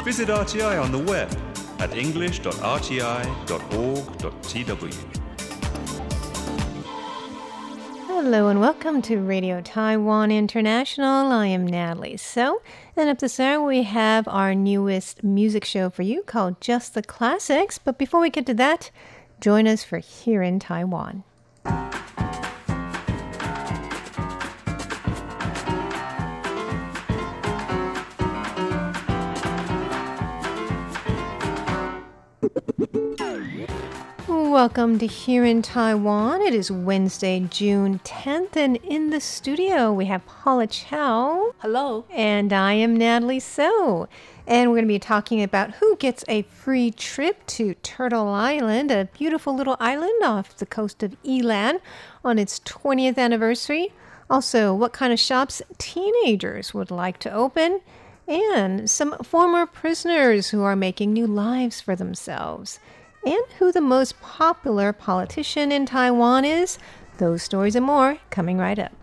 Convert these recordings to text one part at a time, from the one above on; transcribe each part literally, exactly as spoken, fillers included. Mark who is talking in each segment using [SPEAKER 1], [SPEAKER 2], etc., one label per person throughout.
[SPEAKER 1] Visit R T I on the web at english dot r t i dot org dot t w.
[SPEAKER 2] Hello and welcome to Radio Taiwan International. I am Natalie So, and up this hour we have our newest music show for you called Just the Classics. But before we get to that, join us for Here in Taiwan. Welcome to Here in Taiwan. It is Wednesday, June tenth, and in the studio we have Paula Chow.
[SPEAKER 3] Hello.
[SPEAKER 2] And I am Natalie So. And we're going to be talking about who gets a free trip to Turtle Island, a beautiful little island off the coast of Yilan on its twentieth anniversary. Also, what kind of shops teenagers would like to open, and some former prisoners who are making new lives for themselves. And who the most popular politician in Taiwan is. Those stories and more coming right up.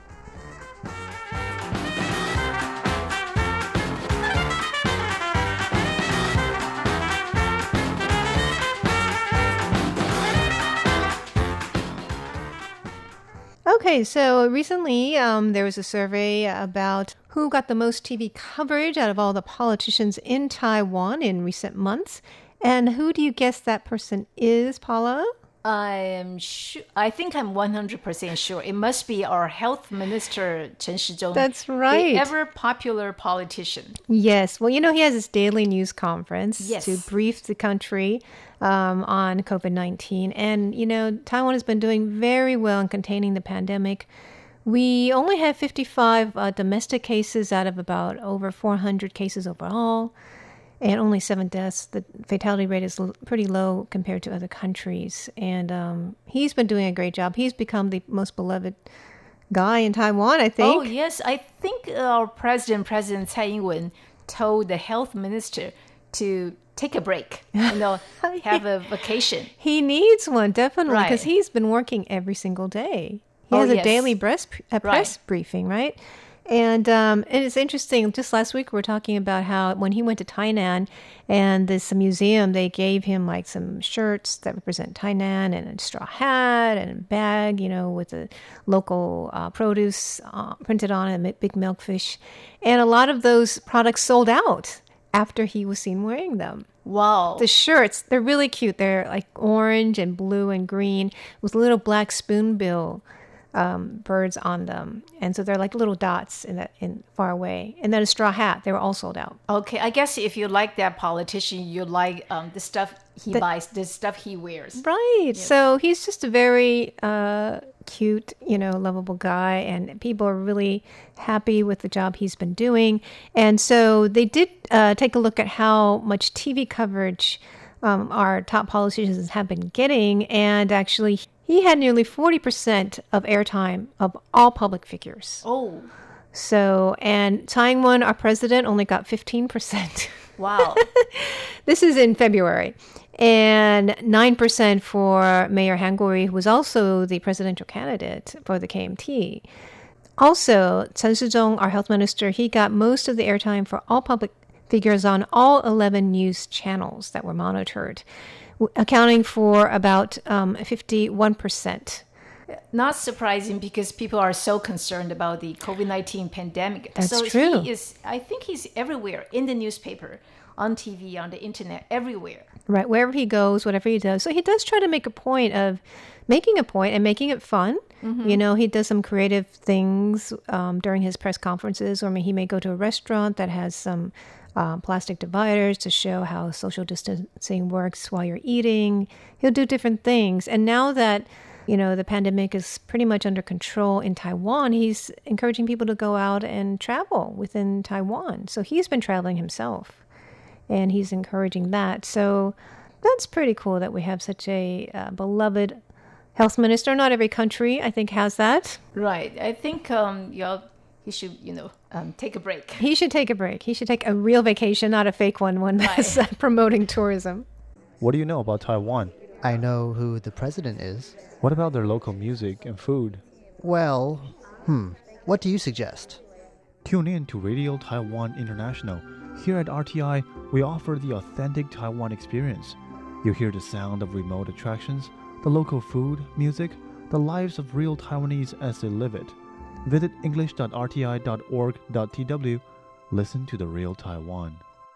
[SPEAKER 2] Okay, so recently um, there was a survey about who got the most T V coverage out of all the politicians in Taiwan in recent months. And who do you guess that person is, Paula?
[SPEAKER 3] I am sure. I think I'm one hundred percent sure. It must be our health minister, Chen Shizhong.
[SPEAKER 2] That's right.
[SPEAKER 3] The ever popular politician.
[SPEAKER 2] Yes. Well, you know, he has his daily news conference
[SPEAKER 3] yes.
[SPEAKER 2] to brief the country um, on COVID nineteen. And, you know, Taiwan has been doing very well in containing the pandemic. We only have fifty-five uh, domestic cases out of about over four hundred cases overall. And only seven deaths. The fatality rate is l- pretty low compared to other countries. And um, he's been doing a great job. He's become the most beloved guy in Taiwan, I think.
[SPEAKER 3] Oh, yes. I think our president, President Tsai Ing-wen, told the health minister to take a break, you know, have a vacation.
[SPEAKER 2] He needs one, definitely, because
[SPEAKER 3] right.
[SPEAKER 2] he's been working every single day. He
[SPEAKER 3] oh,
[SPEAKER 2] has a
[SPEAKER 3] yes.
[SPEAKER 2] daily press, a press
[SPEAKER 3] right.
[SPEAKER 2] briefing, right? And um, and it's interesting, just last week we were talking about how when he went to Tainan and this museum, they gave him like some shirts that represent Tainan and a straw hat and a bag, you know, with the local uh, produce uh, printed on it, a big milkfish. And a lot of those products sold out after he was seen wearing them.
[SPEAKER 3] Wow.
[SPEAKER 2] The shirts, they're really cute. They're like orange and blue and green with little black spoonbill Um, birds on them, and so they're like little dots in that in far away. And then a straw hat, they were all sold out.
[SPEAKER 3] Okay, I guess if you like that politician, you like um, the stuff he
[SPEAKER 2] the,
[SPEAKER 3] buys, the stuff he wears.
[SPEAKER 2] Right.
[SPEAKER 3] Yes.
[SPEAKER 2] So he's just a very uh, cute, you know, lovable guy, and people are really happy with the job he's been doing. And so they did uh, take a look at how much T V coverage um, our top politicians have been getting, and actually he had nearly forty percent of airtime of all public figures.
[SPEAKER 3] Oh.
[SPEAKER 2] So, and Tsai Ing-wen, our president, only got fifteen percent.
[SPEAKER 3] Wow.
[SPEAKER 2] This is in February. And nine percent for Mayor Han Kuo-ri, who was also the presidential candidate for the K M T. Also, Chen Shizhong, our health minister, he got most of the airtime for all public figures on all eleven news channels that were monitored, accounting for about um, fifty-one percent.
[SPEAKER 3] Not surprising because people are so concerned about the COVID nineteen pandemic.
[SPEAKER 2] That's
[SPEAKER 3] so
[SPEAKER 2] true.
[SPEAKER 3] He is, I think he's everywhere, in the newspaper, on T V, on the internet, everywhere.
[SPEAKER 2] Right, wherever he goes, whatever he does. So he does try to make a point of making a point and making it fun. Mm-hmm. You know, he does some creative things um, during his press conferences, or I mean, he may go to a restaurant that has some Um, plastic dividers to show how social distancing works while you're eating. He'll do different things. And now that, you know, the pandemic is pretty much under control in Taiwan, he's encouraging people to go out and travel within Taiwan. So he's been traveling himself, and he's encouraging that. So that's pretty cool that we have such a uh, beloved health minister. Not every country, I think, has that.
[SPEAKER 3] Right. I think um, you'll he should, you know, um, take a break.
[SPEAKER 2] He should take a break. He should take a real vacation, not a fake one, one that's uh, promoting tourism.
[SPEAKER 4] What do you know about Taiwan?
[SPEAKER 5] I know who the president is.
[SPEAKER 4] What about their local music and food?
[SPEAKER 5] Well, hmm, what do you suggest?
[SPEAKER 4] Tune in to Radio Taiwan International. Here at R T I, we offer the authentic Taiwan experience. You'll hear the sound of remote attractions, the local food, music, the lives of real Taiwanese as they live it. Visit english dot r t i dot org dot t w. Listen to the real Taiwan.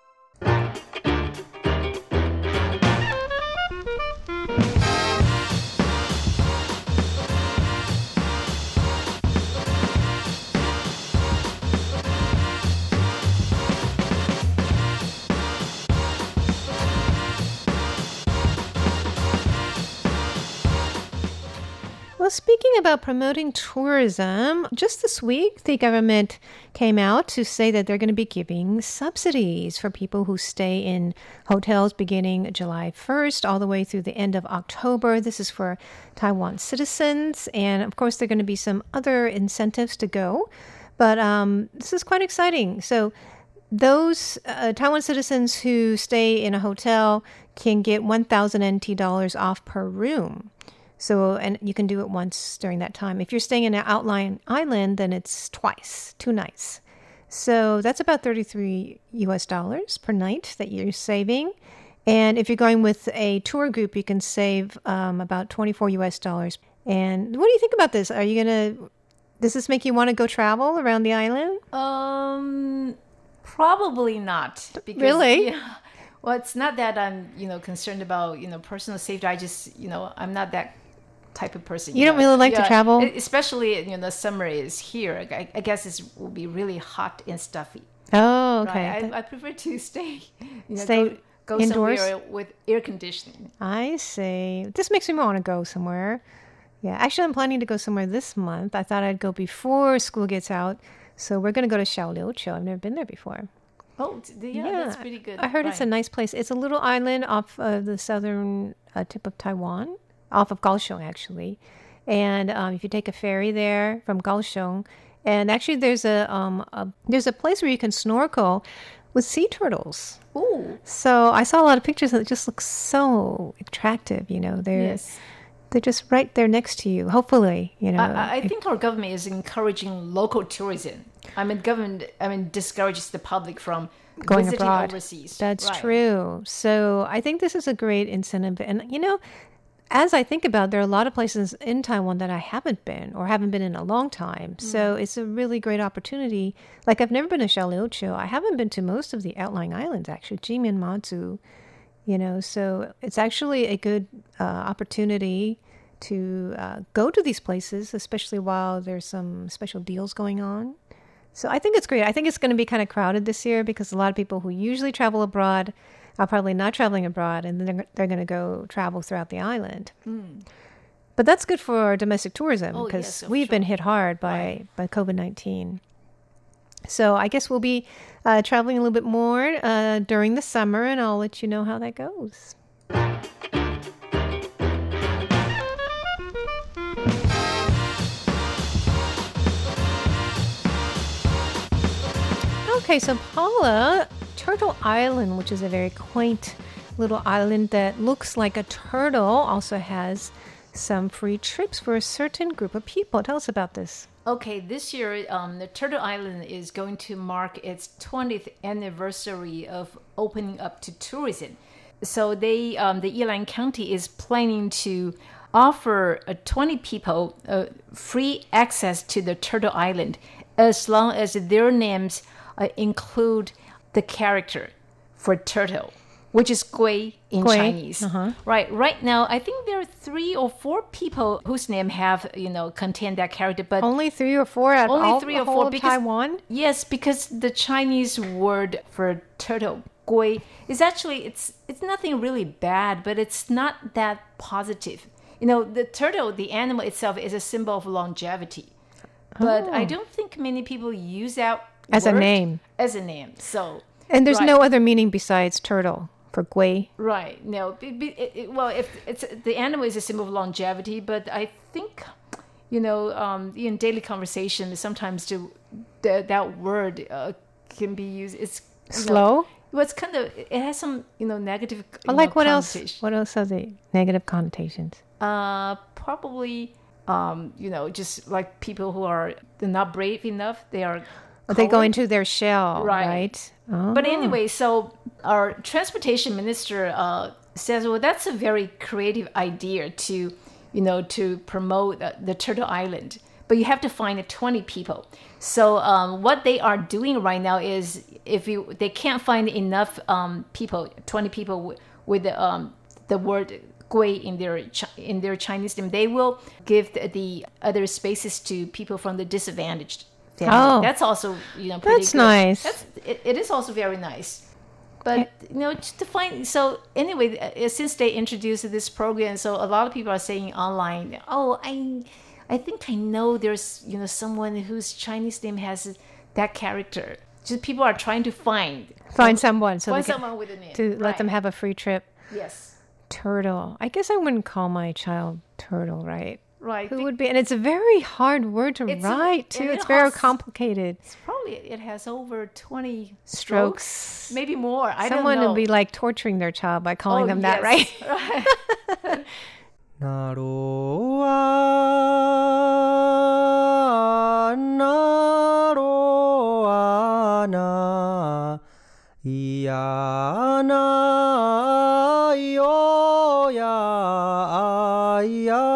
[SPEAKER 2] Well, speaking about promoting tourism, just this week, the government came out to say that they're going to be giving subsidies for people who stay in hotels beginning July first all the way through the end of October. This is for Taiwan citizens. And of course, there are going to be some other incentives to go. But um, this is quite exciting. So those uh, Taiwan citizens who stay in a hotel can get one thousand N T dollars off per room. So, and you can do it once during that time. If you're staying in an outlying island, then it's twice, two nights. So that's about thirty-three U S dollars per night that you're saving. And if you're going with a tour group, you can save um, about twenty-four U S dollars. And what do you think about this? Are you going to, does this make you want to go travel around the island?
[SPEAKER 3] Um, probably not. Because,
[SPEAKER 2] Really?
[SPEAKER 3] Yeah, well, it's not that I'm, you know, concerned about, you know, personal safety. I just, you know, I'm not that type of person.
[SPEAKER 2] You don't
[SPEAKER 3] know.
[SPEAKER 2] really like to
[SPEAKER 3] Yeah,
[SPEAKER 2] travel?
[SPEAKER 3] e- Especially, you know, the summer is here. I, I guess it will be really hot and stuffy.
[SPEAKER 2] Oh, okay.
[SPEAKER 3] Right? I, I prefer to stay, you know,
[SPEAKER 2] Stay
[SPEAKER 3] go, go
[SPEAKER 2] indoors?
[SPEAKER 3] somewhere with air conditioning.
[SPEAKER 2] I see. This makes me want to go somewhere. Yeah, actually, I'm planning to go somewhere this month. I thought I'd go before school gets out. So we're going to go to Xiaoliuqiu. I've never been there before.
[SPEAKER 3] Oh, t- yeah, that's pretty good.
[SPEAKER 2] I heard it's a
[SPEAKER 3] Right.
[SPEAKER 2] nice place. It's a little island off of the southern uh, tip of Taiwan, off of Kaohsiung, actually. And um, if you take a ferry there from Kaohsiung, and actually there's a, um, a there's a place where you can snorkel with sea turtles.
[SPEAKER 3] Ooh,
[SPEAKER 2] So I saw a lot of pictures and it just looks so attractive. You know, they're
[SPEAKER 3] yes.
[SPEAKER 2] they're just right there next to you. Hopefully, you know.
[SPEAKER 3] I, I think our government is encouraging local tourism. I mean, government, I mean, discourages the public from
[SPEAKER 2] Going
[SPEAKER 3] visiting
[SPEAKER 2] abroad.
[SPEAKER 3] overseas.
[SPEAKER 2] That's
[SPEAKER 3] Right.
[SPEAKER 2] true. So I think this is a great incentive. And, you know, as I think about it, there are a lot of places in Taiwan that I haven't been or haven't been in a long time. So it's a really great opportunity. Like, I've never been to Xiaoliuqiu. I haven't been to most of the outlying islands, actually, Jimin, Matsu, you know. So it's actually a good uh, opportunity to uh, go to these places, especially while there's some special deals going on. So I think it's great. I think it's going to be kind of crowded this year because a lot of people who usually travel abroad are probably not traveling abroad, and then they're, they're going to go travel throughout the island. But that's good for domestic tourism
[SPEAKER 3] Oh,
[SPEAKER 2] because
[SPEAKER 3] yes, of
[SPEAKER 2] we've been
[SPEAKER 3] sure.
[SPEAKER 2] hit hard by, by COVID nineteen. So I guess we'll be uh, traveling a little bit more uh, during the summer, and I'll let you know how that goes. Okay, so Paula, Turtle Island, which is a very quaint little island that looks like a turtle, also has some free trips for a certain group of people. Tell us about this.
[SPEAKER 3] Okay, this year, um, the Turtle Island is going to mark its twentieth anniversary of opening up to tourism. So they, um, the Yilan County is planning to offer uh, twenty people uh, free access to the Turtle Island as long as their names uh, include the character for turtle, which is gui in
[SPEAKER 2] Gui,
[SPEAKER 3] Chinese.
[SPEAKER 2] uh-huh.
[SPEAKER 3] Right. Right now, I think there are three or four people whose name have, you know, contain that character, but
[SPEAKER 2] Only three or four out of
[SPEAKER 3] Only
[SPEAKER 2] all
[SPEAKER 3] three
[SPEAKER 2] the
[SPEAKER 3] or four
[SPEAKER 2] whole of
[SPEAKER 3] because-
[SPEAKER 2] Taiwan?
[SPEAKER 3] yes, because the Chinese word for turtle, gui, is actually it's it's nothing really bad, but it's not that positive. You know, the turtle, the animal itself, is a symbol of longevity, but I don't think many people use that
[SPEAKER 2] As a
[SPEAKER 3] word
[SPEAKER 2] name.
[SPEAKER 3] As a name, so.
[SPEAKER 2] And there's
[SPEAKER 3] right.
[SPEAKER 2] no other meaning besides turtle for gui.
[SPEAKER 3] Right. No. Be, be, it, it- well, if it's the animal is a symbol of longevity, but I think, you know, um, in daily conversation, sometimes the, the that word uh, can be used. It's you know,
[SPEAKER 2] Slow?
[SPEAKER 3] well, it's kind of it has some you know negative. You
[SPEAKER 2] Or like
[SPEAKER 3] know,
[SPEAKER 2] what else?
[SPEAKER 3] connotation.
[SPEAKER 2] What else are the negative connotations?
[SPEAKER 3] Uh, probably, um, you know, just like people who are they're not brave enough. They are.
[SPEAKER 2] They go
[SPEAKER 3] coward.
[SPEAKER 2] into their shell,
[SPEAKER 3] Right.
[SPEAKER 2] right?
[SPEAKER 3] But anyway, so our transportation minister uh, says, well, that's a very creative idea to, you know, to promote uh, the Turtle Island. But you have to find twenty people. So um, what they are doing right now is, if you they can't find enough um, people, twenty people w- with the, um, the word "gui" in their in their Chinese name, they will give the, the other spaces to people from the disadvantaged family.
[SPEAKER 2] Oh.
[SPEAKER 3] That's also, you know, pretty
[SPEAKER 2] That's
[SPEAKER 3] good.
[SPEAKER 2] nice.
[SPEAKER 3] That's it, it is also very nice. But you know, just to find so anyway, uh, since they introduced this program, so a lot of people are saying online, "Oh, I, I think I know there's you know someone whose Chinese name has that character." Just people are trying to find
[SPEAKER 2] Find someone so
[SPEAKER 3] find
[SPEAKER 2] they can,
[SPEAKER 3] someone with a name
[SPEAKER 2] to let
[SPEAKER 3] Right.
[SPEAKER 2] them have a free trip.
[SPEAKER 3] Yes,
[SPEAKER 2] Turtle. I guess I wouldn't call my child Turtle, right?
[SPEAKER 3] right.
[SPEAKER 2] Who would be? And it's a very hard word to
[SPEAKER 3] It's a-
[SPEAKER 2] write, too.
[SPEAKER 3] and it
[SPEAKER 2] It's very
[SPEAKER 3] has-
[SPEAKER 2] complicated.
[SPEAKER 3] It's probably it has over twenty
[SPEAKER 2] Strokes.
[SPEAKER 3] strokes, maybe more. I
[SPEAKER 2] Someone
[SPEAKER 3] don't know.
[SPEAKER 2] would be like torturing their child by calling
[SPEAKER 3] Oh,
[SPEAKER 2] them that,
[SPEAKER 3] yes.
[SPEAKER 2] right?
[SPEAKER 3] Right.
[SPEAKER 6] なろあなろあないやないよやいや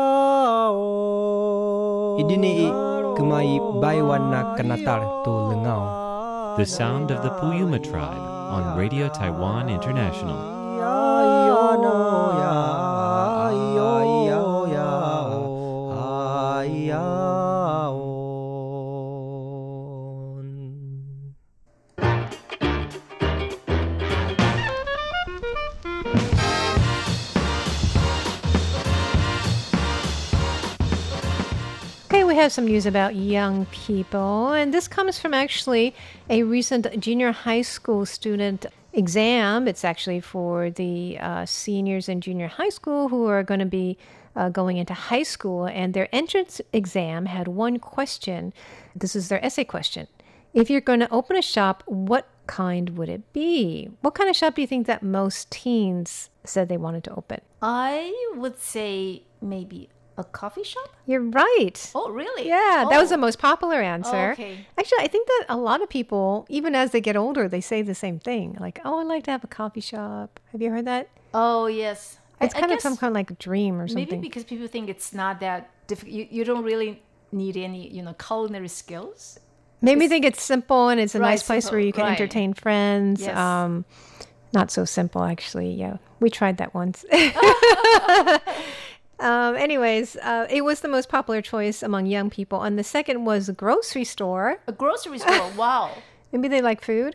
[SPEAKER 6] お Idini kumai baiwana kanatar tu lengau.
[SPEAKER 7] The sound of the Puyuma tribe on Radio Taiwan International.
[SPEAKER 2] Okay, we have some news about young people, and this comes from actually a recent junior high school student exam. It's actually for the uh, seniors in junior high school who are going to be uh, going into high school, and their entrance exam had one question. This is their essay question. If you're going to open a shop, what kind would it be? What kind of shop do you think that most teens said they wanted to open?
[SPEAKER 3] I would say maybe a coffee shop.
[SPEAKER 2] You're right.
[SPEAKER 3] Oh, really?
[SPEAKER 2] Yeah, that was
[SPEAKER 3] Oh.
[SPEAKER 2] the most popular answer.
[SPEAKER 3] Oh, okay.
[SPEAKER 2] Actually, I think that a lot of people, even as they get older, they say the same thing. Like, oh, I'd like to have a coffee shop. Have you heard that?
[SPEAKER 3] Oh, yes.
[SPEAKER 2] It's
[SPEAKER 3] I, I
[SPEAKER 2] kind of
[SPEAKER 3] guess
[SPEAKER 2] some kind of like a dream or
[SPEAKER 3] maybe
[SPEAKER 2] something.
[SPEAKER 3] because people think it's not that difficult. You, you don't really need any, you know, culinary skills.
[SPEAKER 2] Maybe they think it's simple and it's a
[SPEAKER 3] Right,
[SPEAKER 2] nice place
[SPEAKER 3] simple,
[SPEAKER 2] where you can
[SPEAKER 3] right.
[SPEAKER 2] entertain friends.
[SPEAKER 3] Yes.
[SPEAKER 2] Um, not so simple, actually. Yeah, we tried that once. um, anyways, uh, it was the most popular choice among young people. And the second was a grocery store.
[SPEAKER 3] A grocery store. Wow.
[SPEAKER 2] Maybe they like food.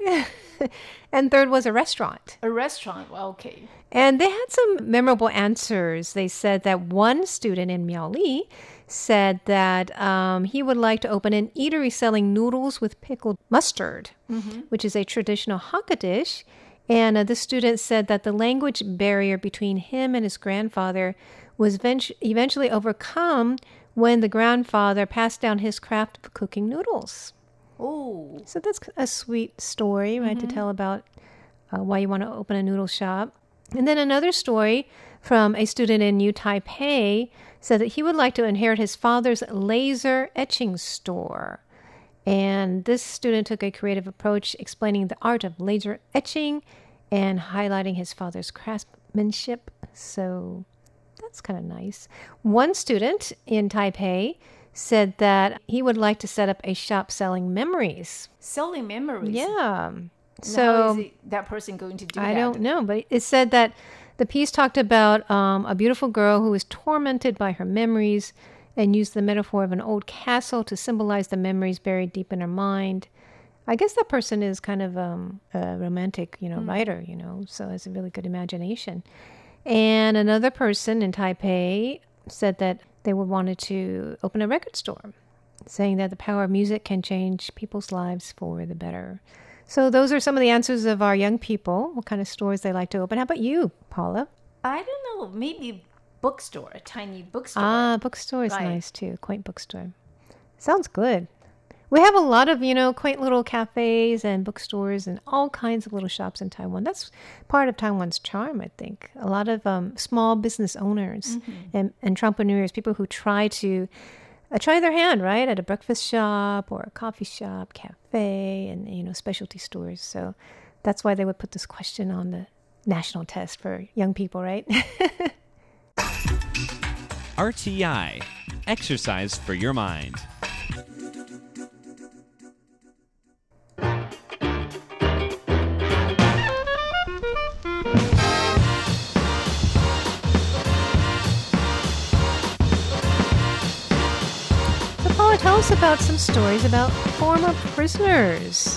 [SPEAKER 2] And third was a restaurant.
[SPEAKER 3] A restaurant. Well, okay.
[SPEAKER 2] And they had some memorable answers. They said that one student in Miaoli said that um, he would like to open an eatery selling noodles with pickled mustard, which is a traditional Hakka dish. And uh, the student said that the language barrier between him and his grandfather was vent- eventually overcome when the grandfather passed down his craft of cooking noodles.
[SPEAKER 3] Oh.
[SPEAKER 2] So that's a sweet story, right, to tell about uh, why you want to open a noodle shop. And then another story from a student in New Taipei said that he would like to inherit his father's laser etching store. And this student took a creative approach explaining the art of laser etching and highlighting his father's craftsmanship. So that's kind of nice. One student in Taipei said that he would like to set up a shop selling memories.
[SPEAKER 3] Selling memories.
[SPEAKER 2] Yeah.
[SPEAKER 3] Now,
[SPEAKER 2] So
[SPEAKER 3] how is it- that person going to do
[SPEAKER 2] I
[SPEAKER 3] that?
[SPEAKER 2] don't know, but it said that the piece talked about um, a beautiful girl who was tormented by her memories and used the metaphor of an old castle to symbolize the memories buried deep in her mind. I guess that person is kind of um, a romantic, you know, writer, you know, so has a really good imagination. And another person in Taipei said that they would wanted to open a record store, saying that the power of music can change people's lives for the better. So those are some of the answers of our young people, what kind of stores they like to open. How about you, Paula?
[SPEAKER 3] I don't know. Maybe bookstore, a tiny bookstore.
[SPEAKER 2] Ah, bookstore is
[SPEAKER 3] Right.
[SPEAKER 2] nice too. Quaint bookstore. Sounds good. We have a lot of, you know, quaint little cafes and bookstores and all kinds of little shops in Taiwan. That's part of Taiwan's charm, I think. A lot of um, small business owners and entrepreneurs, people who try to uh, try their hand, right? At a breakfast shop or a coffee shop, cafe, and, you know, specialty stores. So that's why they would put this question on the national test for young people, right?
[SPEAKER 7] R T I, exercise for your mind.
[SPEAKER 2] Tell us about some stories about former prisoners.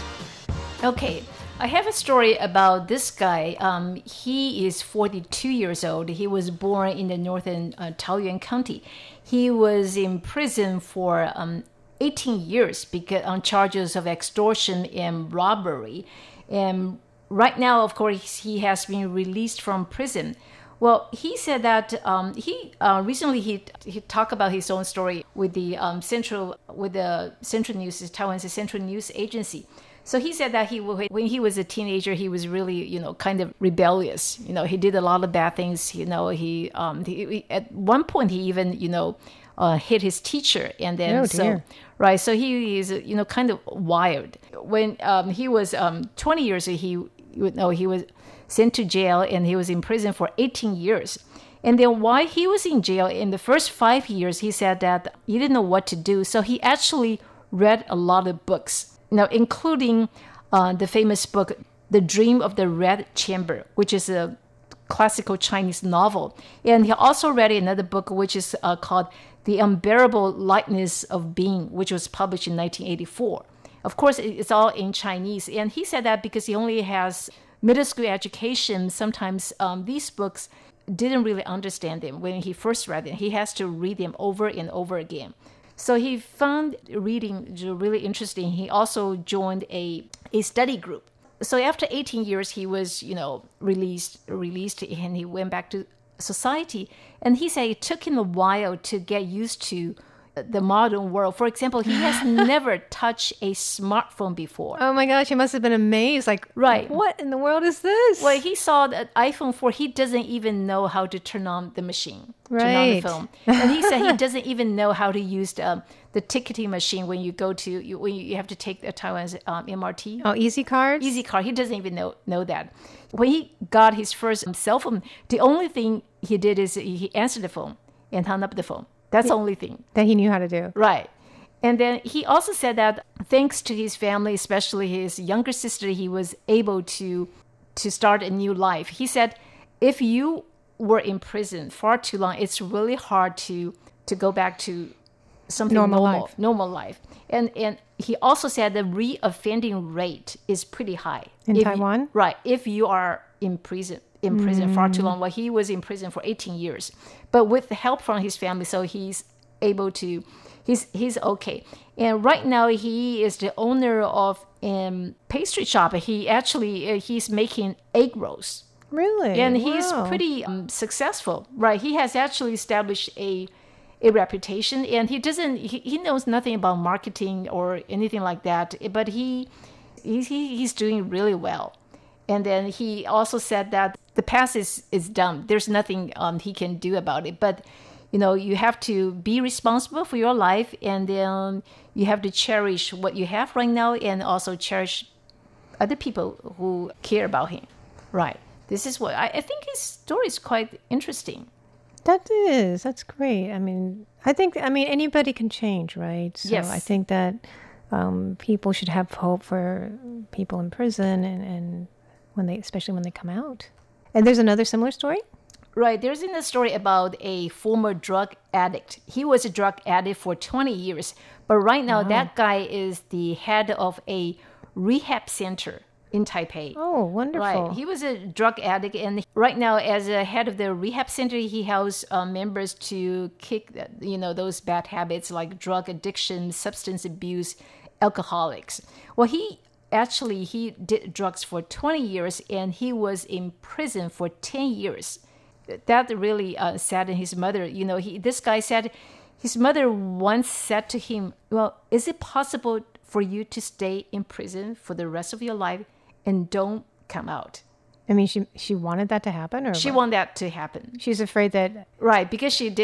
[SPEAKER 3] Okay, I have a story about this guy. Um, he is forty-two years old. He was born in the northern uh, Taoyuan County. He was in prison for um, eighteen years because on charges of extortion and robbery. And right now, of course, he has been released from prison. Well, he said that um, he uh, recently he he talked about his own story with the um, central with the Central News, Taiwan's Central News Agency. So he said that he when he was a teenager, he was really you know kind of rebellious. You know, he did a lot of bad things. You know, he um he, at one point he even you know uh, hit his teacher, and then
[SPEAKER 2] oh,
[SPEAKER 3] so right. So he is you know kind of wild. When um, he was um, twenty years, he you know he was sent to jail, and he was in prison for eighteen years. And then while he was in jail, in the first five years, he said that he didn't know what to do. So he actually read a lot of books, you know, including uh, the famous book, The Dream of the Red Chamber, which is a classical Chinese novel. And he also read another book, which is uh, called The Unbearable Lightness of Being, which was published in nineteen eighty-four. Of course, it's all in Chinese. And he said that because he only has middle school education, sometimes um, these books didn't really understand them when he first read them. He has to read them over and over again. So he found reading really interesting. He also joined a, a study group. So after eighteen years, he was, you know, released, released, and he went back to society. And he said it took him a while to get used to the modern world. For example, he has never touched a smartphone before.
[SPEAKER 2] Oh my gosh, he must have been amazed. Like,
[SPEAKER 3] right.
[SPEAKER 2] What in the world is this?
[SPEAKER 3] Well, he saw the iPhone four. He doesn't even know how to turn on the machine,
[SPEAKER 2] right.
[SPEAKER 3] turn on the phone. And he said he doesn't even know how to use the, um, the ticketing machine when you go to, you, when you have to take the Taiwan's um, M R T.
[SPEAKER 2] Oh, Easy Cards?
[SPEAKER 3] Easy Card. He doesn't even know, know that. When he got his first cell phone, the only thing he did is he answered the phone and hung up the phone. That's the only thing
[SPEAKER 2] that he knew how to do.
[SPEAKER 3] Right. And then he also said that thanks to his family, especially his younger sister, he was able to to start a new life. He said, if you were in prison far too long, it's really hard to to go back to something
[SPEAKER 2] normal,
[SPEAKER 3] normal
[SPEAKER 2] life.
[SPEAKER 3] normal life. And and he also said the re-offending rate is pretty high.
[SPEAKER 2] In
[SPEAKER 3] if
[SPEAKER 2] Taiwan?
[SPEAKER 3] You, right. If you are in prison. in prison mm. far too long. Well, he was in prison for eighteen years, but with the help from his family, so he's able to, he's he's okay. And right now, he is the owner of a um, pastry shop. He actually uh, he's making egg rolls.
[SPEAKER 2] Really,
[SPEAKER 3] and
[SPEAKER 2] wow.
[SPEAKER 3] he's pretty um, successful. Right, he has actually established a a reputation, and he doesn't he, he knows nothing about marketing or anything like that. But he he's he, he's doing really well. And then he also said that the past is, is done. There's nothing um, he can do about it. But, you know, you have to be responsible for your life, and then you have to cherish what you have right now, and also cherish other people who care about him. Right. This is what I, I think his story is quite interesting.
[SPEAKER 2] That is. That's great. I mean, I think, I mean, anybody can change, right? So
[SPEAKER 3] yes.
[SPEAKER 2] I think that um, people should have hope for people in prison and, and when they, especially when they come out. And there's another similar story?
[SPEAKER 3] Right. There's in a story about a former drug addict. He was a drug addict for twenty years. But right now, wow. that guy is the head of a rehab center in Taipei.
[SPEAKER 2] Oh, wonderful.
[SPEAKER 3] Right. He was a drug addict. And right now, as a head of the rehab center, he helps uh, members to kick, you know, those bad habits like drug addiction, substance abuse, alcoholics. Well, he... Actually, he did drugs for twenty years, and he was in prison for ten years. That really uh, saddened his mother. You know, he, this guy said his mother once said to him, well, is it possible for you to stay in prison for the rest of your life and don't come out?
[SPEAKER 2] I mean, she she wanted that to happen? Or
[SPEAKER 3] She
[SPEAKER 2] what?
[SPEAKER 3] wanted that to happen.
[SPEAKER 2] She's afraid that...
[SPEAKER 3] Right, because she did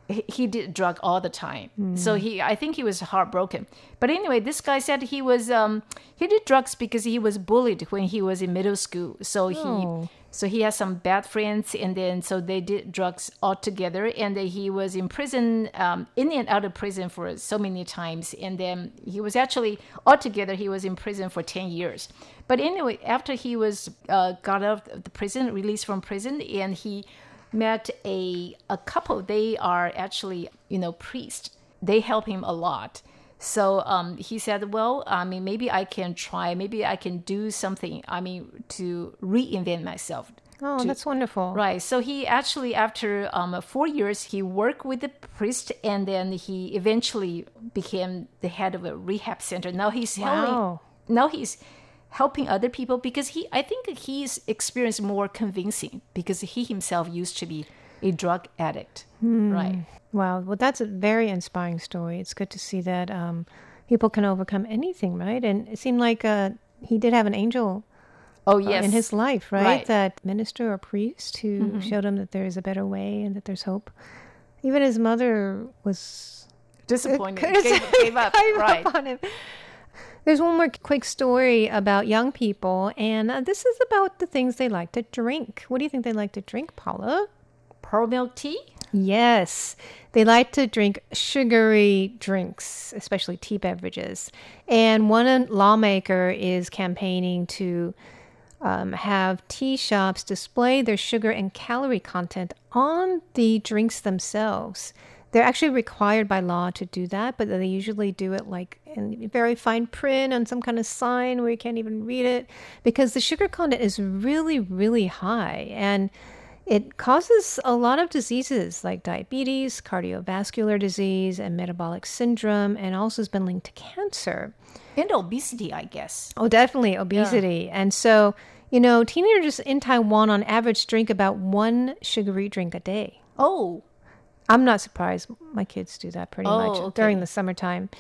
[SPEAKER 3] he, he did drug all the time. Mm. So he, I think he was heartbroken. But anyway, this guy said he was um, he did drugs because he was bullied when he was in middle school. So
[SPEAKER 2] Oh.
[SPEAKER 3] he so he has some bad friends, and then so they did drugs all together. And then he was in prison, um, in and out of prison for so many times. And then he was actually altogether he was in prison for ten years. But anyway, after he was uh, got out of the prison, released from prison, and he met a a couple. They are actually, you know, priests. They help him a lot. So um, he said, well, I mean, maybe I can try. Maybe I can do something. I mean, to reinvent myself.
[SPEAKER 2] Oh,
[SPEAKER 3] to-
[SPEAKER 2] that's wonderful.
[SPEAKER 3] Right. So he actually, after um, four years, he worked with the priest, and then he eventually became the head of a rehab center. Now he's helping.
[SPEAKER 2] Wow.
[SPEAKER 3] Now he's helping other people because he. I think his experience more convincing because he himself used to be a drug addict. Right.
[SPEAKER 2] Wow. Well, that's a very inspiring story. It's good to see that um, people can overcome anything, right? And it seemed like uh, he did have an angel
[SPEAKER 3] Oh
[SPEAKER 2] uh,
[SPEAKER 3] yes.
[SPEAKER 2] in his life, right?
[SPEAKER 3] Right.
[SPEAKER 2] That minister or priest who showed him that there is a better way and that there's hope. Even his mother was
[SPEAKER 3] disappointed.
[SPEAKER 2] Gave-
[SPEAKER 3] Gave, gave up.
[SPEAKER 2] gave up
[SPEAKER 3] Right.
[SPEAKER 2] on him. There's one more quick story about young people, and uh, this is about the things they like to drink. What do you think they like to drink, Paula?
[SPEAKER 3] Pearl milk tea.
[SPEAKER 2] Yes, they like to drink sugary drinks, especially tea beverages. And one lawmaker is campaigning to um, have tea shops display their sugar and calorie content on the drinks themselves. They're actually required by law to do that, but they usually do it like in very fine print on some kind of sign where you can't even read it because the sugar content is really, really high. And it causes a lot of diseases like diabetes, cardiovascular disease, and metabolic syndrome, and also has been linked to cancer.
[SPEAKER 3] And obesity, I guess.
[SPEAKER 2] Oh, definitely obesity. And so, you know, teenagers in Taiwan on average drink about one sugary drink a day.
[SPEAKER 3] Oh,
[SPEAKER 2] I'm not surprised. My kids do that pretty
[SPEAKER 3] Oh,
[SPEAKER 2] much
[SPEAKER 3] okay.
[SPEAKER 2] during the summertime.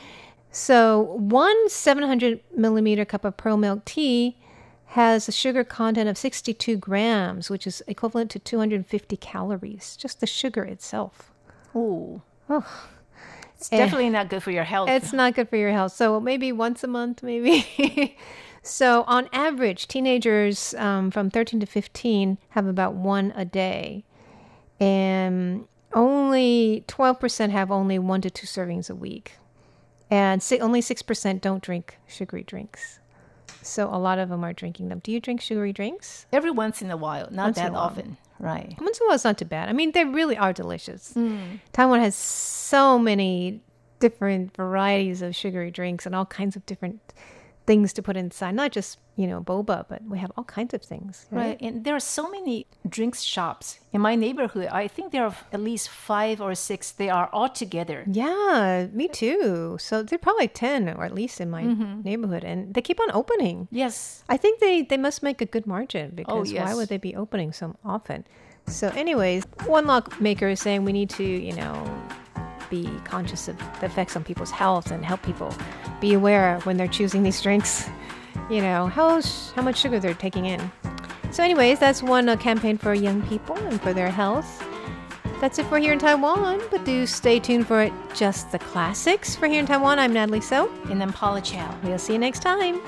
[SPEAKER 2] So one seven hundred millimeter cup of pearl milk tea has a sugar content of sixty-two grams, which is equivalent to two hundred fifty calories, just the sugar itself.
[SPEAKER 3] oh.
[SPEAKER 2] Oh,
[SPEAKER 3] It's definitely not good for your health.
[SPEAKER 2] it's not good for your health. So maybe once a month, maybe. So on average, teenagers um, from thirteen to fifteen have about one a day. And only twelve percent have only one to two servings a week. And si- only six percent don't drink sugary drinks. So a lot of them are drinking them. Do you drink sugary drinks?
[SPEAKER 3] Every once in a while, not
[SPEAKER 2] Once in
[SPEAKER 3] that
[SPEAKER 2] a while.
[SPEAKER 3] often. Right.
[SPEAKER 2] Once in a while, it's not too bad. I mean, they really are delicious. Taiwan has so many different varieties of sugary drinks and all kinds of different things to put inside. Not just, you know, boba, but we have all kinds of things.
[SPEAKER 3] Right. And there are so many drinks shops in my neighborhood. I think there are at least five or six. They are all together.
[SPEAKER 2] Yeah, me too. So they're probably ten, or at least in my neighborhood. And they keep on opening.
[SPEAKER 3] Yes.
[SPEAKER 2] I think they, they must make a good margin because why
[SPEAKER 3] yes.
[SPEAKER 2] would they be opening so often? So anyways, one lawmaker is saying we need to, you know, be conscious of the effects on people's health and help people be aware when they're choosing these drinks, you know, how, how much sugar they're taking in. So anyways, that's one uh, campaign for young people and for their health. That's it for Here in Taiwan, but do stay tuned for Just the Classics. For Here in Taiwan, I'm Natalie So.
[SPEAKER 3] And then Paula Chow.
[SPEAKER 2] We'll see you next time.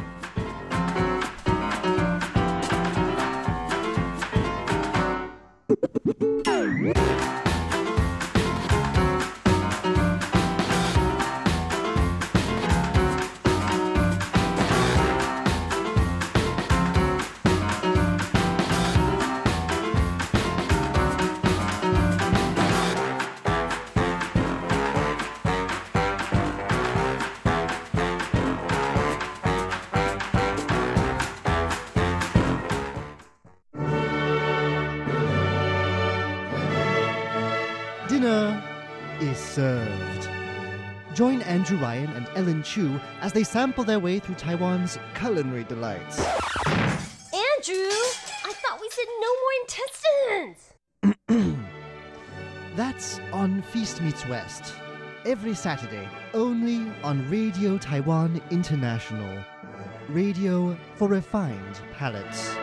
[SPEAKER 8] Dinner is served. Join Andrew Ryan and Ellen Chu as they sample their way through Taiwan's culinary delights.
[SPEAKER 9] Andrew, I thought we said no more intestines.
[SPEAKER 8] That's on Feast Meets West. Every Saturday, only on Radio Taiwan International. Radio for refined palates.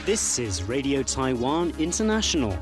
[SPEAKER 10] This is Radio Taiwan International.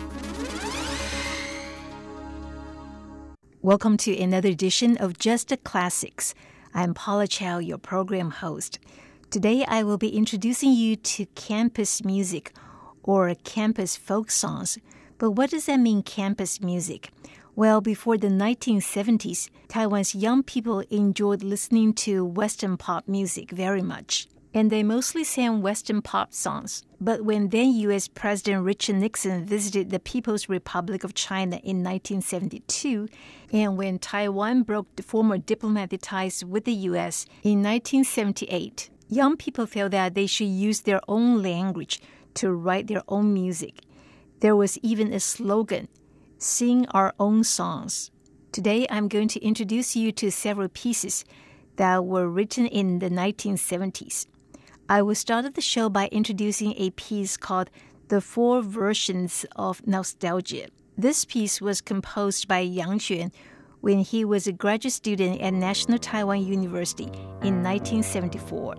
[SPEAKER 3] Welcome to another edition of Just the Classics. I'm Paula Chow, your program host. Today I will be introducing you to campus music or campus folk songs. But what does that mean, campus music? Well, before the nineteen seventies, Taiwan's young people enjoyed listening to Western pop music very much. And they mostly sang Western pop songs. But when then U S President Richard Nixon visited the People's Republic of China in nineteen seventy-two, and when Taiwan broke the former diplomatic ties with the U S in nineteen seventy-eight, young people felt that they should use their own language to write their own music. There was even a slogan, "Sing our own songs." Today, I'm going to introduce you to several pieces that were written in the nineteen seventies. I will start the show by introducing a piece called The Four Versions of Nostalgia. This piece was composed by Yang Xuan when he was a graduate student at National Taiwan University in nineteen seventy-four.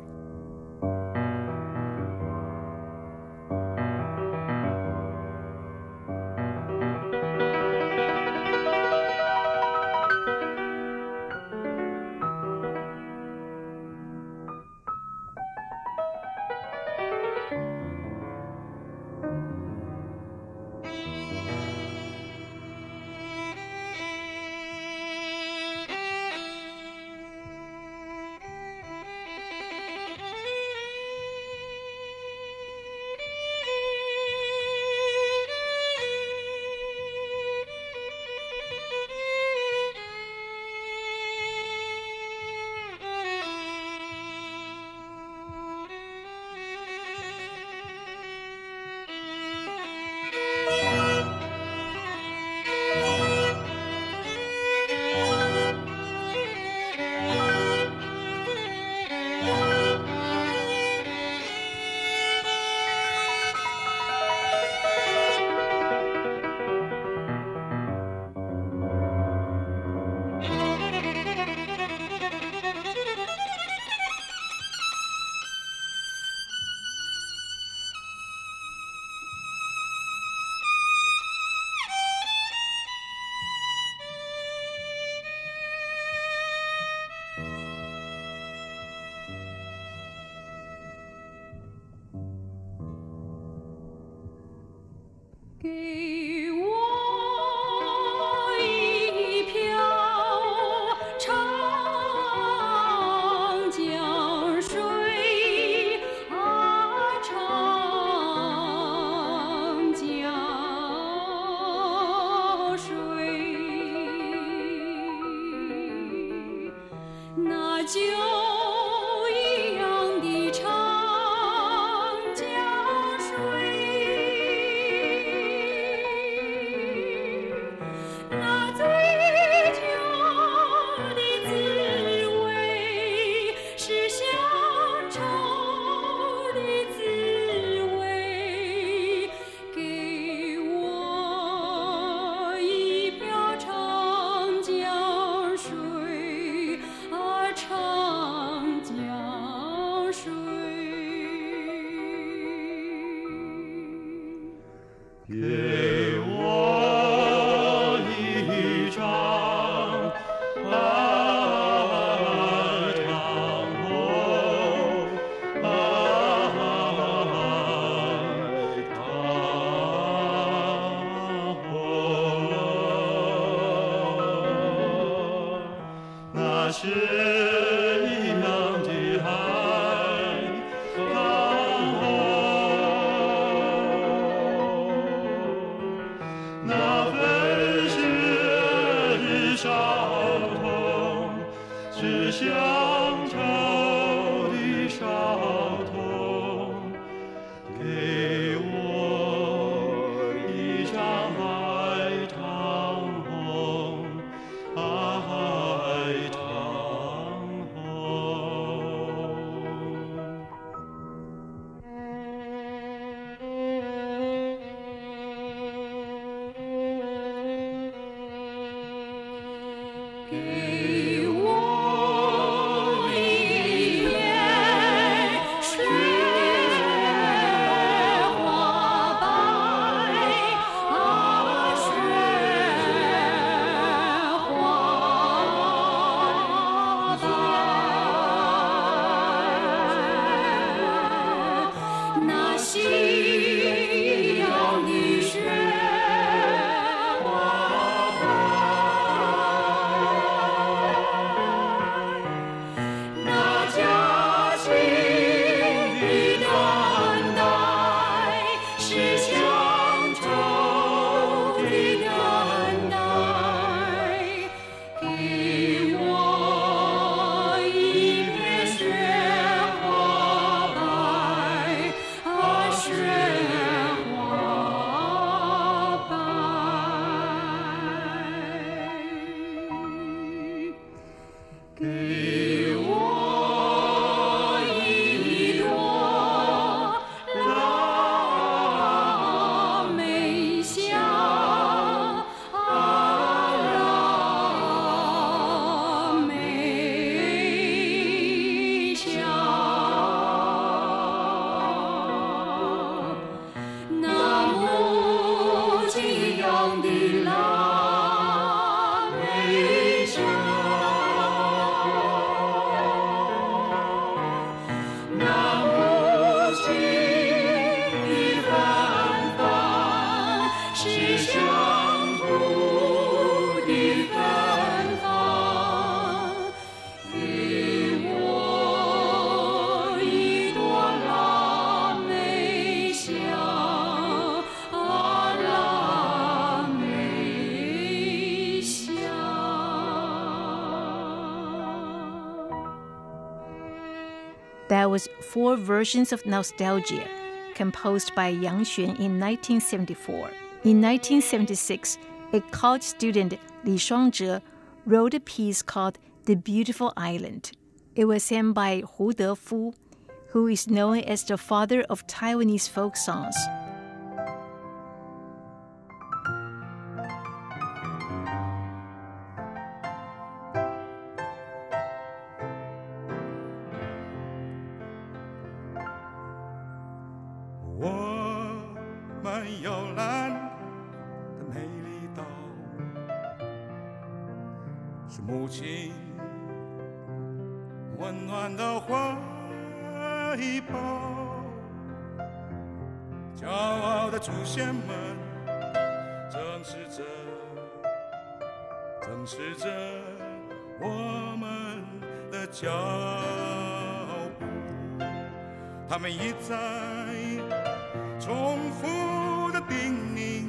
[SPEAKER 11] 给我一朵腊梅香，啊，腊梅香，那木吉阳的腊梅香。
[SPEAKER 3] That was four versions of Nostalgia, composed by Yang Xuan in nineteen seventy-four. In nineteen seventy-six, a college student, Li Shuangzhe, wrote a piece called The Beautiful Island. It was sang by Hu Defu, who is known as the father of Taiwanese folk songs.
[SPEAKER 11] 他们一再重复的叮咛，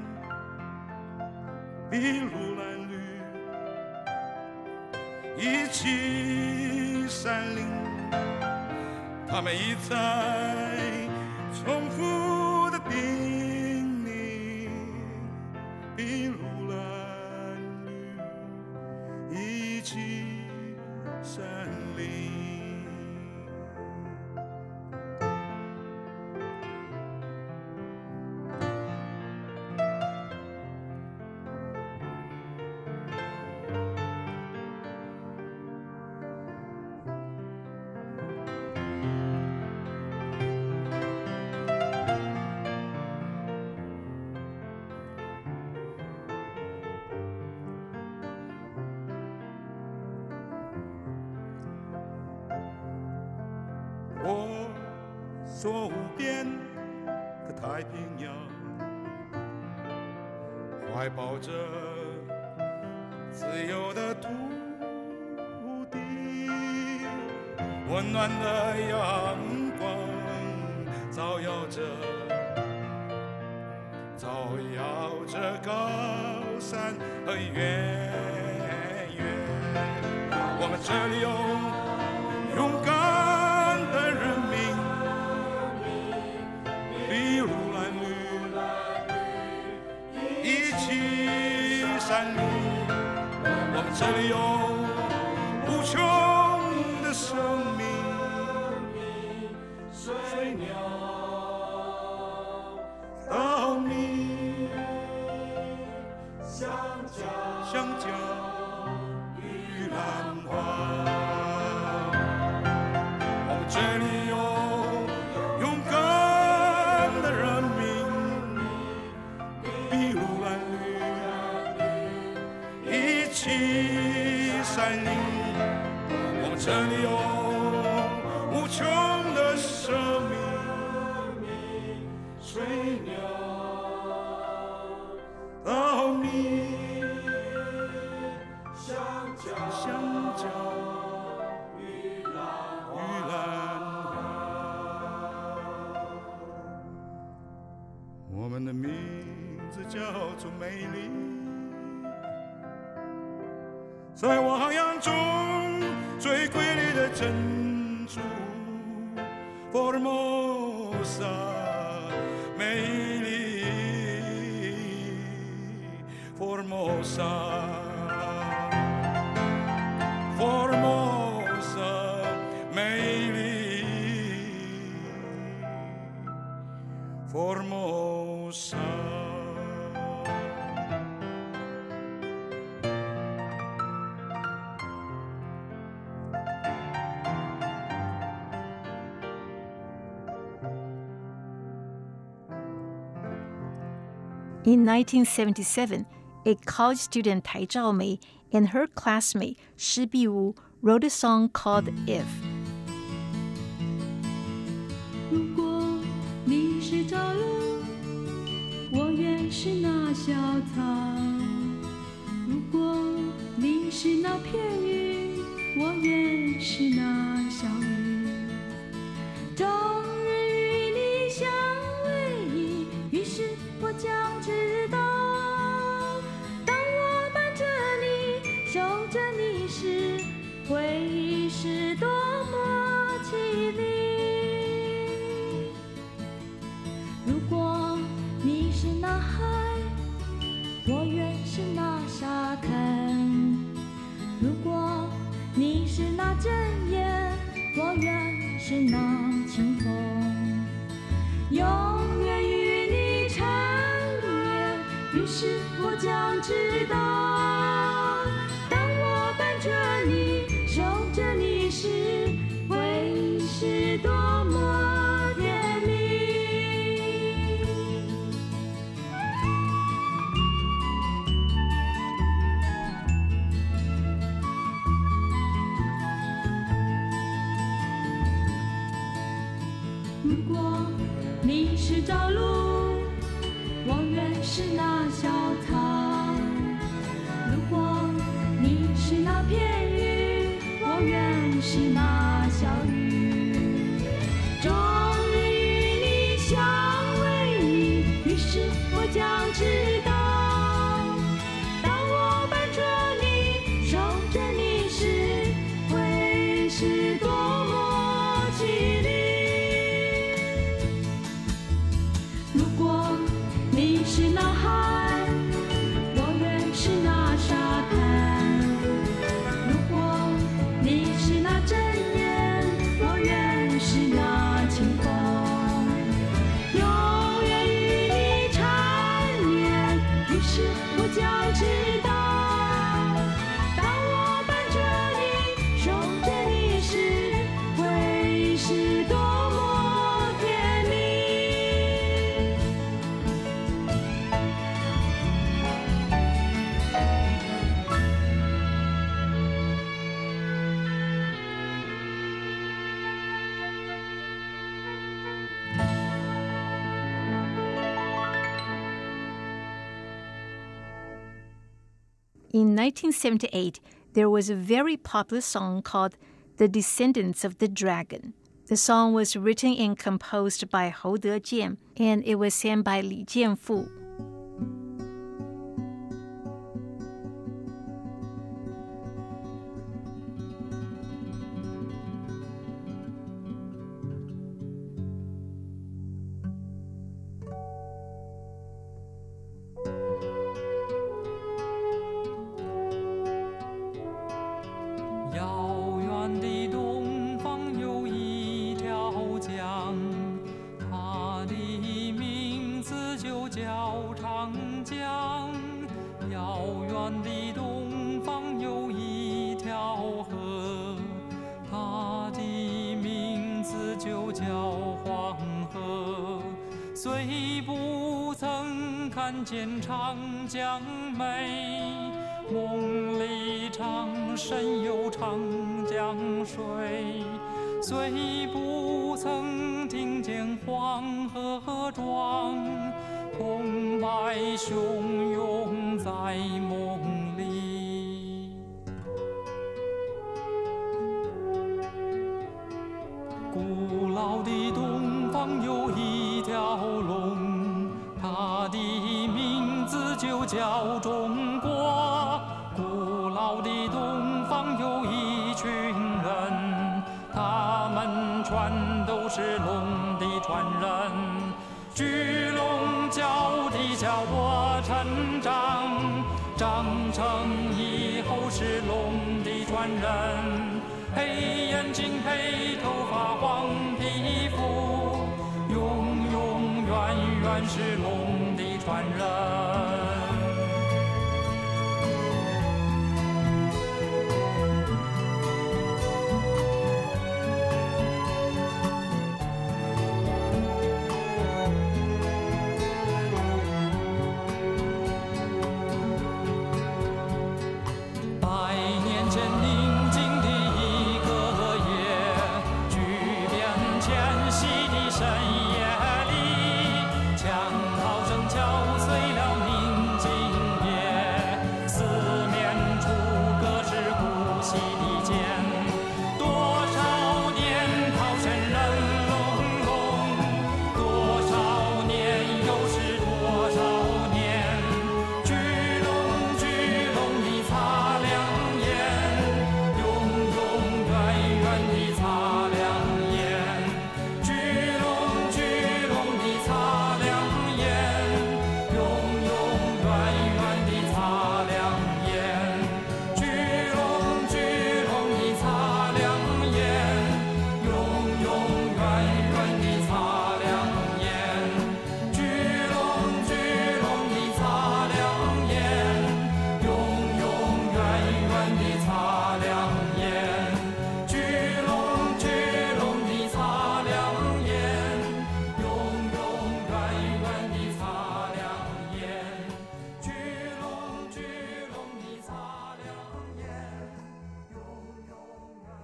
[SPEAKER 11] 筚路蓝缕，一起山林。他们一再重复的叮咛，筚路蓝缕，一起山林。我所无边的太平洋，怀抱着自由的土地，温暖的阳光照耀着，照耀着高山和原野。我们这里有勇敢的人民，筚路蓝缕，一起山林。我们这里有无穷的生命，水鸟、稻米、香蕉、香蕉、玉兰花。这里有勇敢的人民，筚路蓝缕，一起山林。我们这里有无穷的生命，水鸟、稻米、香蕉、香蕉。我们的名字叫做美丽，在我航洋中最瑰丽的珍珠，佛尔摩萨美丽，佛尔摩萨，佛尔摩
[SPEAKER 3] In nineteen seventy-seven, a college student Tai Zhaomei and her classmate Shi Biwu wrote a song called If.
[SPEAKER 12] 如果你是朝露，我愿是那小草；如果你是那片云，我愿是那小雨。终日与你相偎依，于是我将知道，当我伴着你，守着你时，会是多么凄厉。如果你是那海，我愿是那沙滩；如果你是那阵烟，我愿是那清风，永远与你缠绵。于是我将知道，当我伴着你，守着你时，会是多么甜蜜。如果你是朝露，我愿是那小草；如果你是那片云，我愿是那小雨。终日与你相偎依，于是我将知道，当我伴着你，守着你时，会是多么凄厉。如果你是那海，我愿是那沙滩；如果你是那阵烟，我愿是那清风，永远与你缠绵。于是我将知道，当我伴着你，守着你时，会是多么甜蜜。
[SPEAKER 3] In nineteen seventy-eight, there was a very popular song called The Descendants of the Dragon. The song was written and composed by Hou Dejian, and it was sang by Li Jianfu.
[SPEAKER 13] 遥远的东方有一条江，它的名字就叫长江。遥远的东方有一条河，它的名字就叫黄河。虽不曾看见长江美，梦里常神游长江水。虽不曾听见黄河壮，澎湃汹涌在梦里。古老的东方有一条龙，它的名字就叫中国。古老的东方有一群人，他们全都是龙的传人。巨龙教的叫我成长，长成以后是龙的传人。黑眼睛黑头发黄皮肤，永永远远是龙的传人。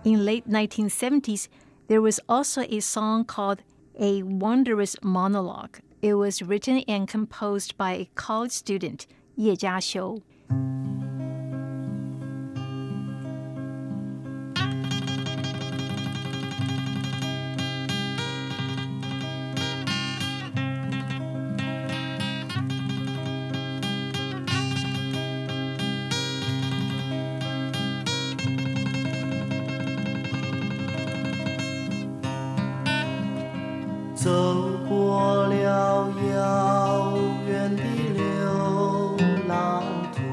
[SPEAKER 3] In late nineteen seventies, there was also a song called A Wondrous Monologue. It was written and composed by a college student, 叶嘉修。
[SPEAKER 14] 走过了遥远的流浪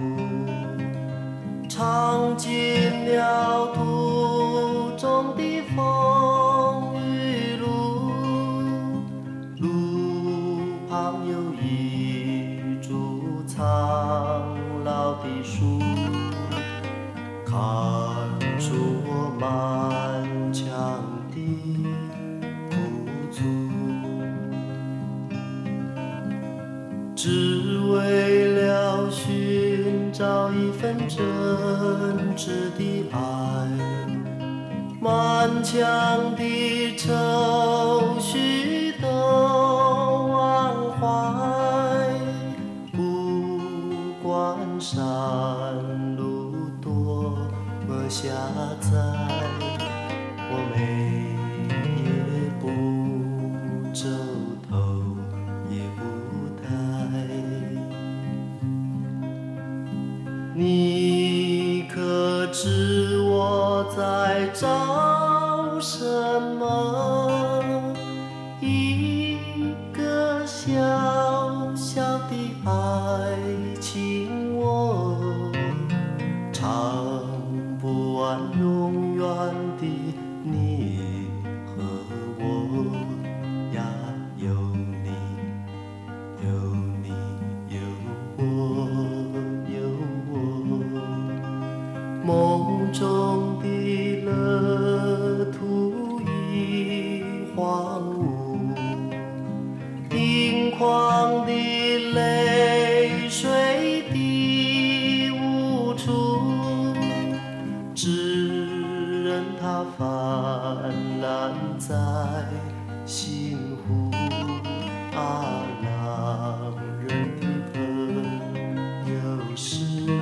[SPEAKER 14] 途，尝尽了途中的风雨路，路旁有一株苍老的树，看出我满腔的只为了寻找一份真挚的爱，满腔的愁绪都忘怀，不管山路多么狭窄，我每夜不皱头也不你可知我在找什么？一个小小的爱情，我唱不完永远的你和我呀，有你，有你，有我。梦中的乐土已荒芜，盈眶的泪水滴无处，只任它泛滥在心湖啊，让人的朋友是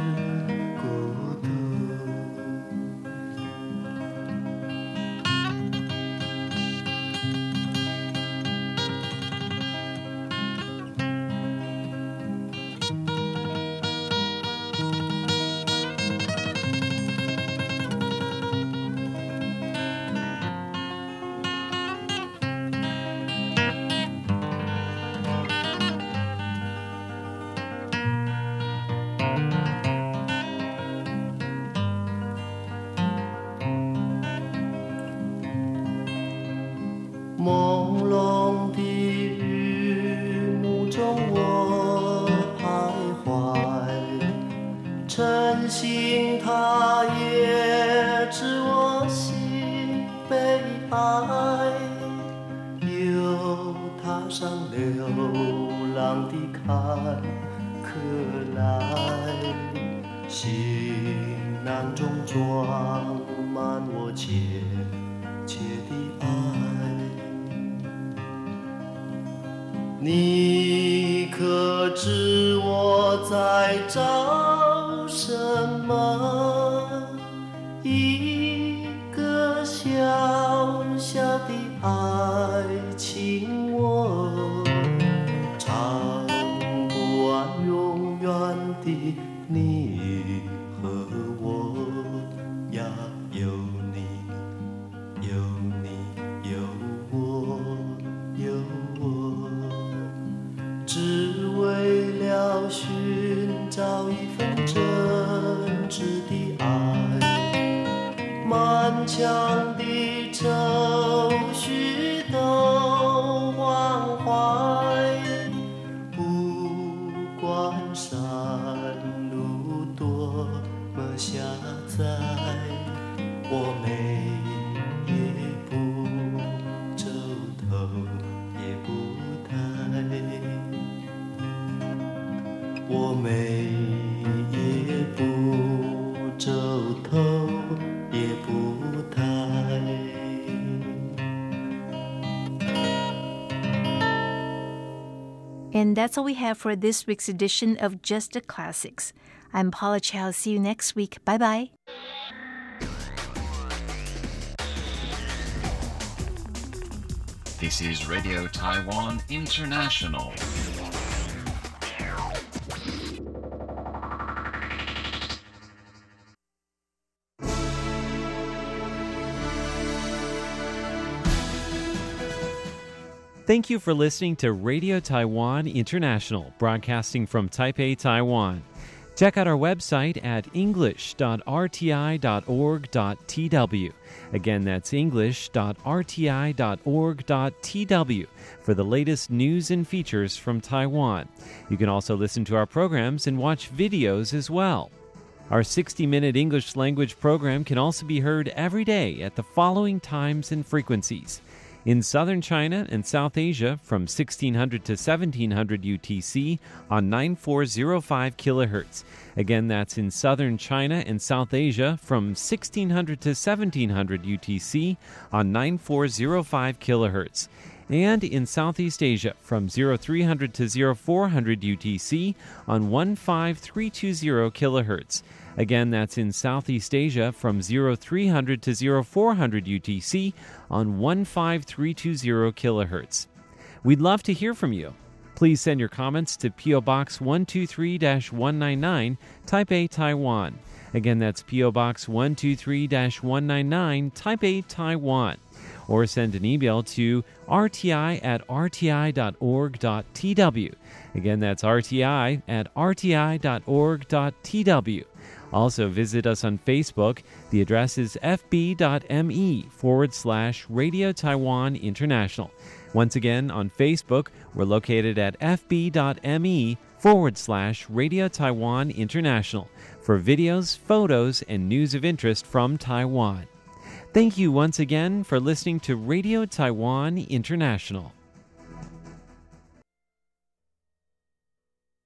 [SPEAKER 14] 朦胧的雨幕中我徘徊，晨星它也知我心悲哀，又踏上流浪的坎坷来，行囊中装满我切切的爱。你可知我在找什么？一个小小的爱情，我唱不完永远的你和我呀，有你，有你，有我，有我。只为了寻找一份真挚的爱，满腔的愁绪都忘怀，不管山路多么狭窄，我每夜不皱头也不抬，我每夜不皱头也不抬。
[SPEAKER 3] And that's all we have for this week's edition of Just the Classics. I'm Paula Chow. See you next week. Bye-bye.
[SPEAKER 15] This is Radio Taiwan International.
[SPEAKER 7] Thank you for listening to Radio Taiwan International, broadcasting from Taipei, Taiwan. Check out our website at english dot r t i dot org dot t w. Again, that's english dot r t i dot org dot t w for the latest news and features from Taiwan. You can also listen to our programs and watch videos as well. Our sixty-minute English language program can also be heard every day at the following times and frequencies. In southern China and South Asia from sixteen hundred to seventeen hundred U T C on nine four zero five kilohertz. Again, that's in southern China and South Asia from sixteen hundred to seventeen hundred U T C on nine four zero five kilohertz. And in Southeast Asia from three hundred to four hundred U T C on one five three two zero kilohertz. Again, that's in Southeast Asia from three hundred to four hundred U T C on one five three two zero kilohertz. We'd love to hear from you. Please send your comments to P O Box one two three dash one nine nine, Taipei, Taiwan. Again, that's P O Box one two three dash one nine nine, Taipei, Taiwan. Or send an email to r t i at r t i dot org dot t w. Again, that's r t i at r t i dot org dot t w. Also, visit us on Facebook. The address is fb.me forward slash Radio Taiwan International. Once again, on Facebook, we're located at fb.me forward slash Radio Taiwan International for videos, photos, and news of interest from Taiwan. Thank you once again for listening to Radio Taiwan International.